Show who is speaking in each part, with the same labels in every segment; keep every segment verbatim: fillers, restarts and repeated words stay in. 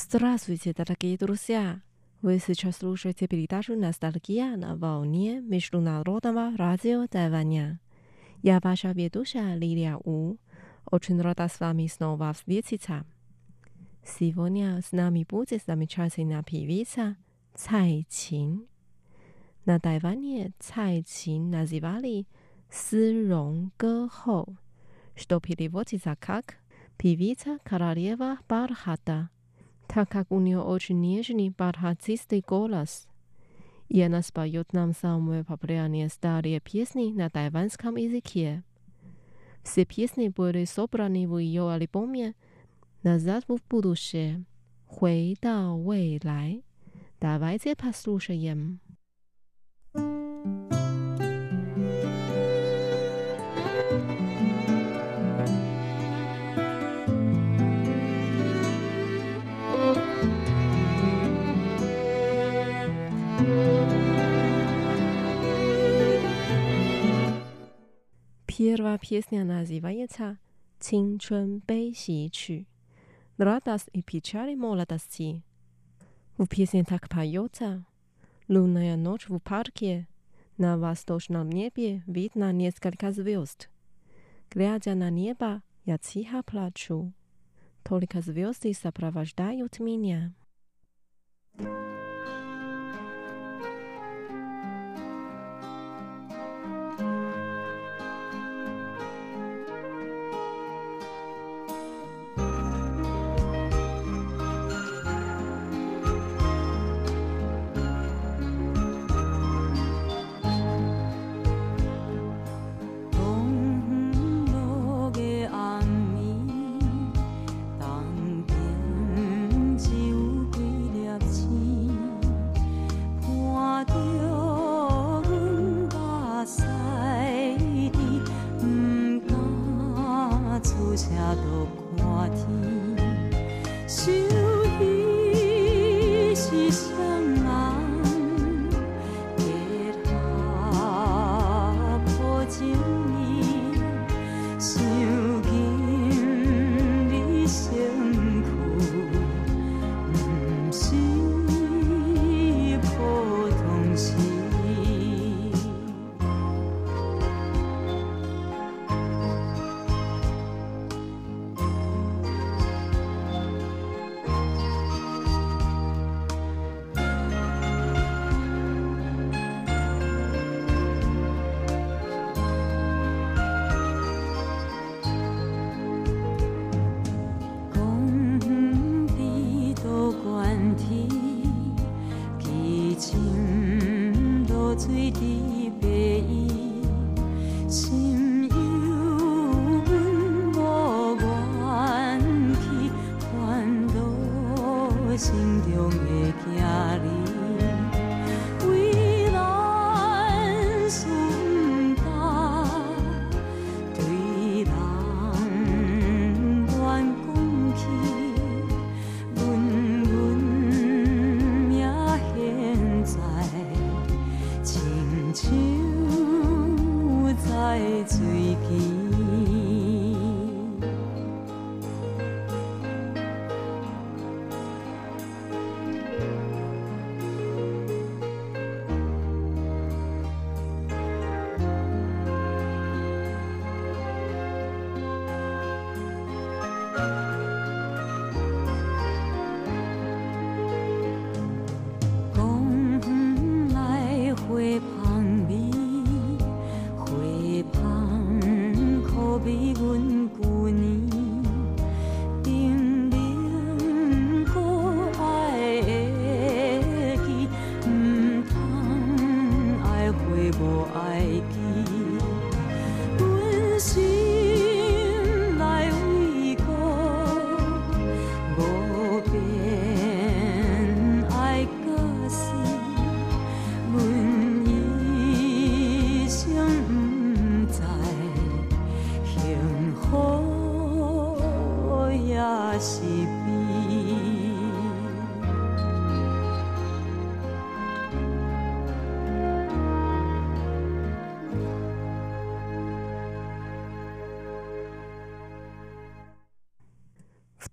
Speaker 1: Здравствуйте, дорогие друзья! Вы сейчас слушаете передачу «Ностальгия» на волне Международного радио Тайваня. Я ваша ведущая Лилия У. Очень рада с вами снова встретиться. Сегодня с нами будет замечательная певица Цай Чин. На Тайване Цай Чин называли «Сырон Гехоу», что переводится как «певица королева бархата», так как у нее очень нежный бархатистый голос. И она споет нам самые популярные старые песни на тайванском языке. Все песни были собраны в ее альбоме «Назад в будущее», «回到未来». Давайте послушаем. Первая песня называется «Цинчун бэйси чу» – «Радость и печаль молодости». В песне так поется: «Лунная ночь в парке, на восточном небе видно несколько звезд. Глядя на небо, я тихо плачу, только звезды сопровождают меня».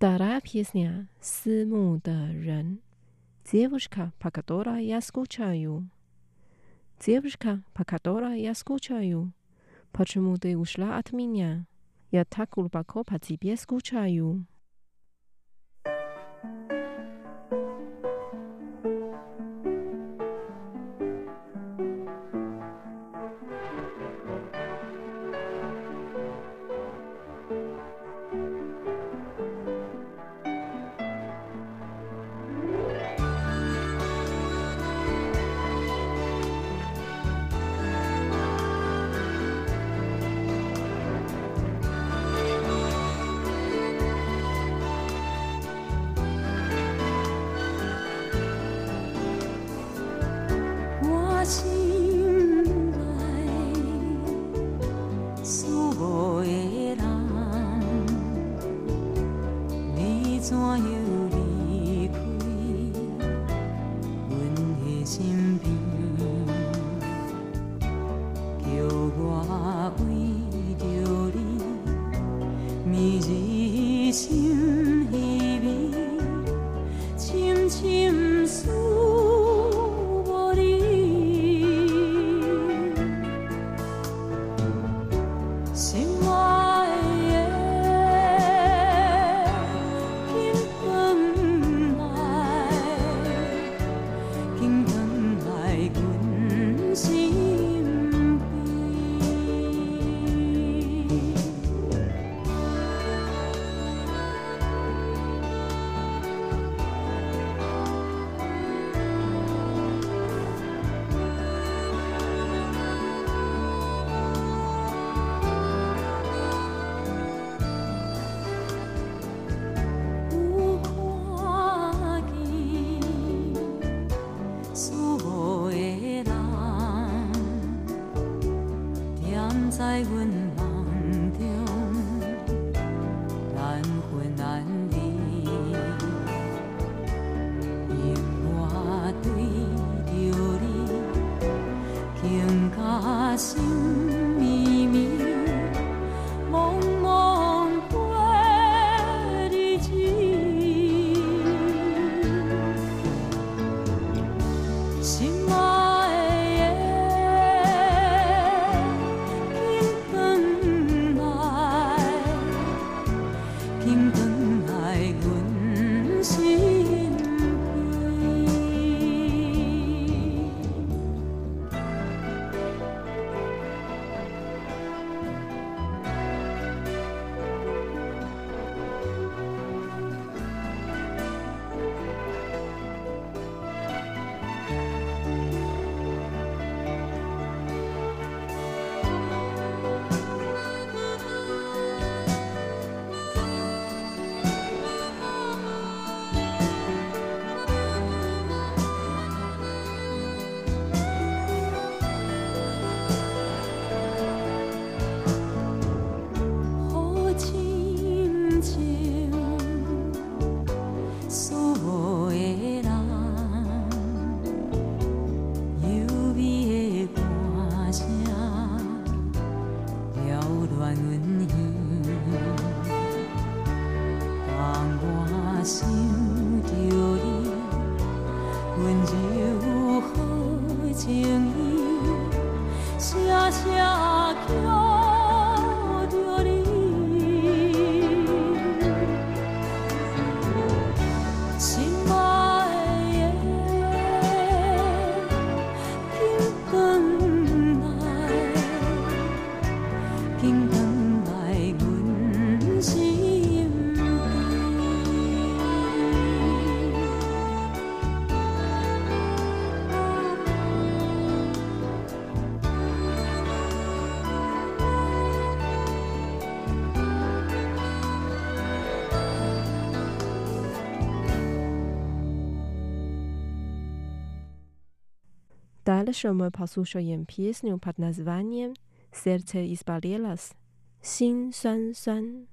Speaker 1: Вторая песня «思慕的人». Девушка, по которой я скучаю. Девушка, по которой я скучаю. Почему ты ушла от меня? Я так глубоко по тебе скучаю. Дальше мы послушаем песню под названием «Сердце изболелось» – «Син酸酸».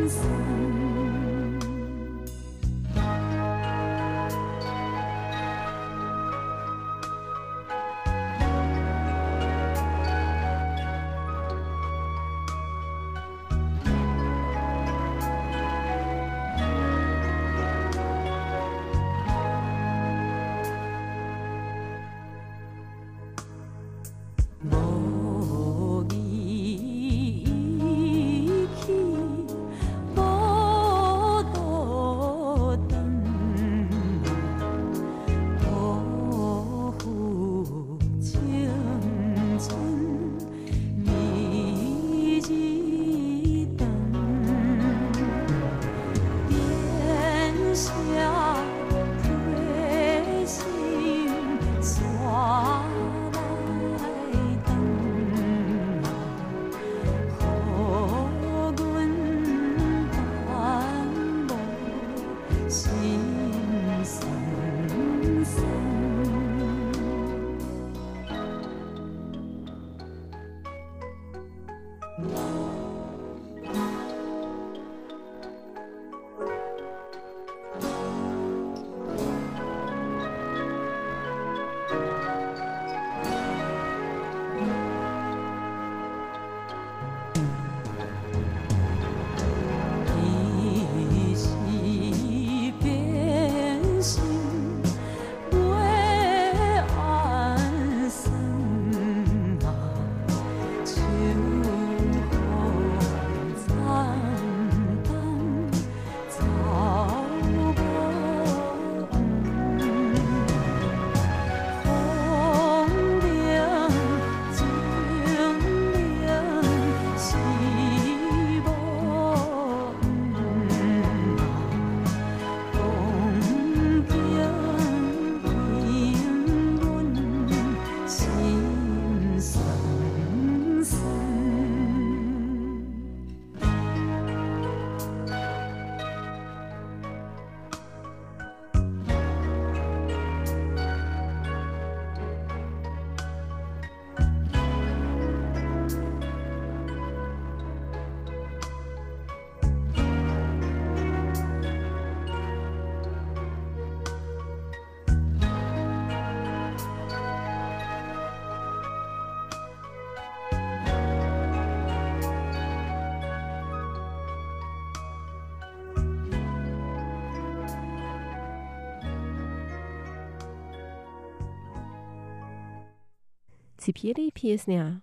Speaker 1: Теперь песня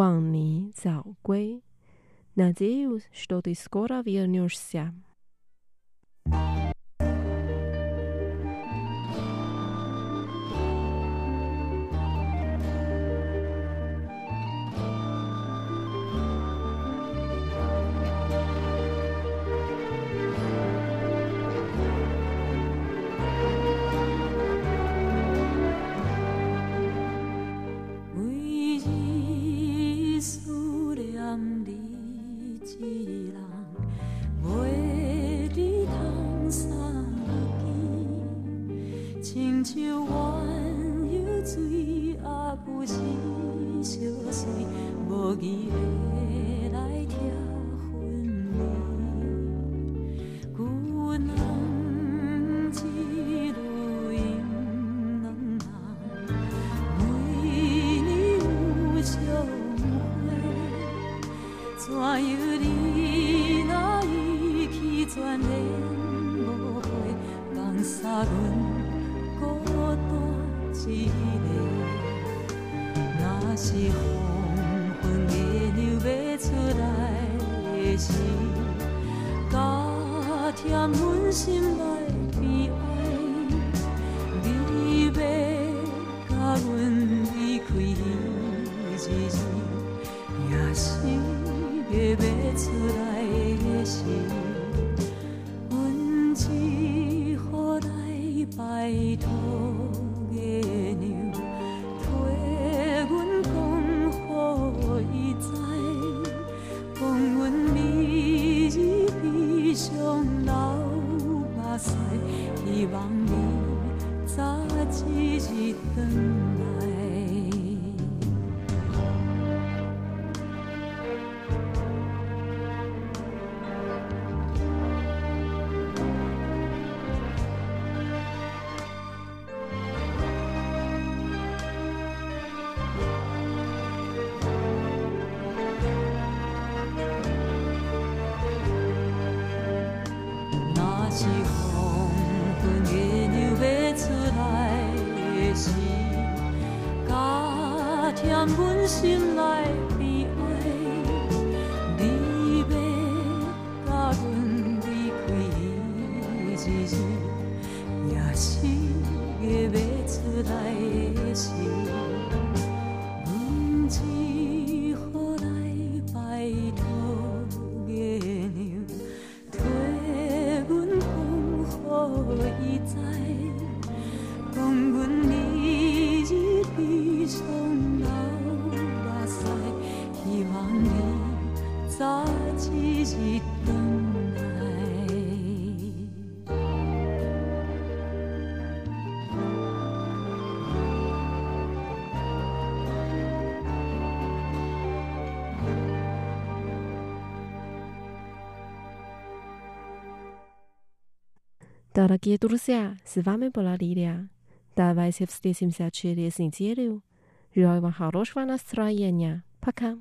Speaker 1: «Ван早归». Надеюсь, что ты скоро вернешься.
Speaker 2: 是黄昏月亮要出来的时，加添阮心内悲哀。你要甲阮离开日日，也是月要出来的时，阮只好来拜托月亮，替阮讲，予伊知，讲阮日日悲伤流目屎，希望你早一日回来。
Speaker 1: Дорогие друзья, с вами была Лилия. Давайте встретимся через неделю. Желаю вам хорошего настроения. Пока.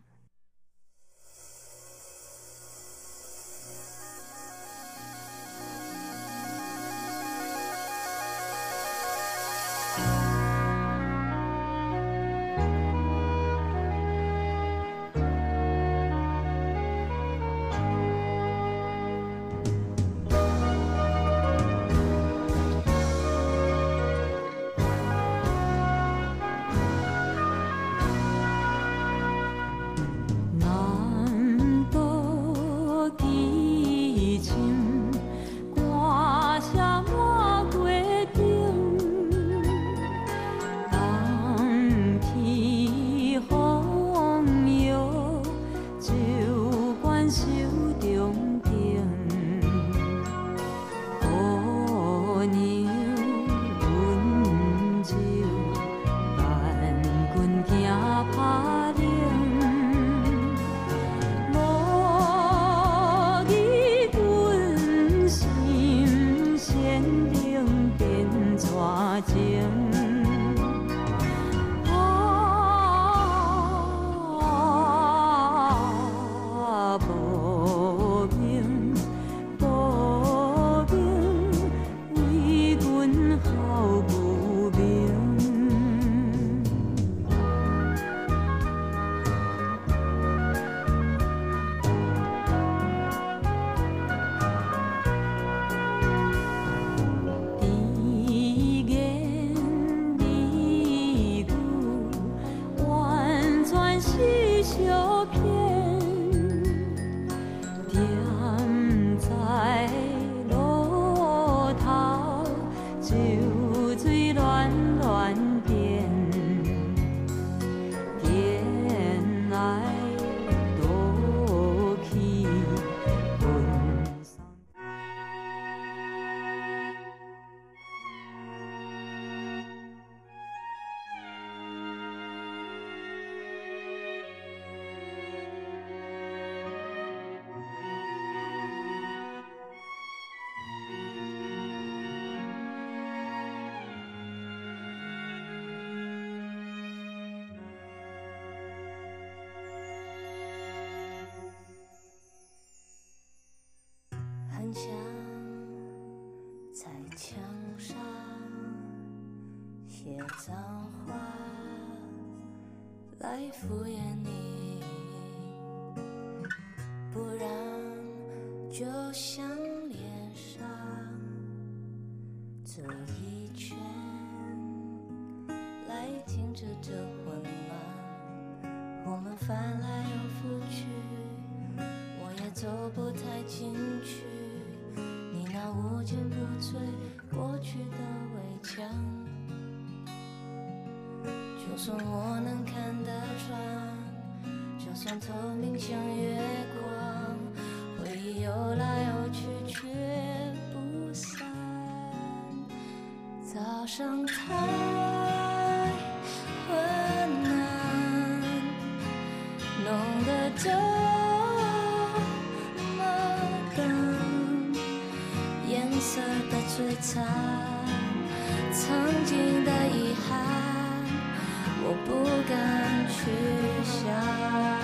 Speaker 3: 很想在墙上写脏话来敷衍你，不然就像脸上走一圈来停止这混乱，我们翻来又覆去，我也走不太进去，你那无坚不摧过去的围墙，就算我能看得穿，就算透明像月光，回忆游来游去却不散，早上太昏暗，弄得这颜色的摧残，曾经的遗憾，我不敢去想。